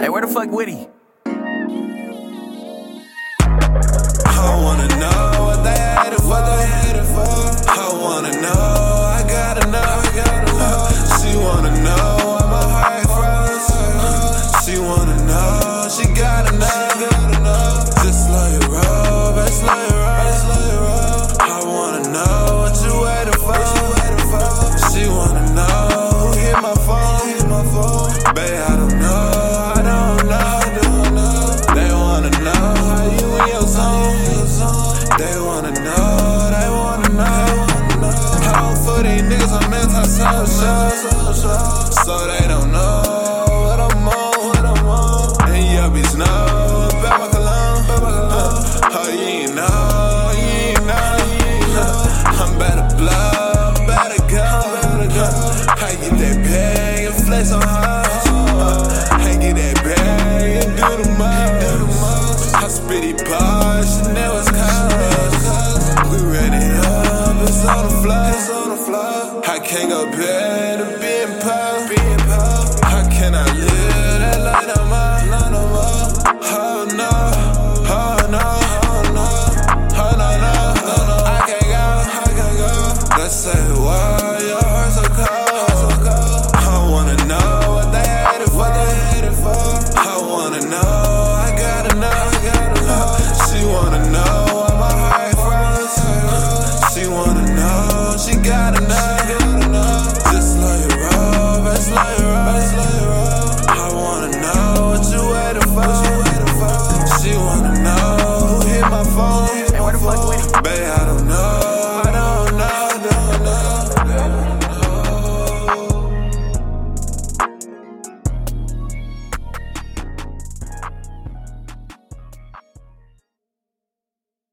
Hey, where the fuck Woody? I wanna know what they hated for. I wanna know, I gotta know. She wanna know why my heart froze. She wanna know, she gotta know. Just slow your roll, babe, slow your roll. I wanna know what you waiting for. She wanna know who hit my phone. Babe, I don't know. They wanna know how you in your zone. They wanna know. How for these niggas I'm anti-social. So they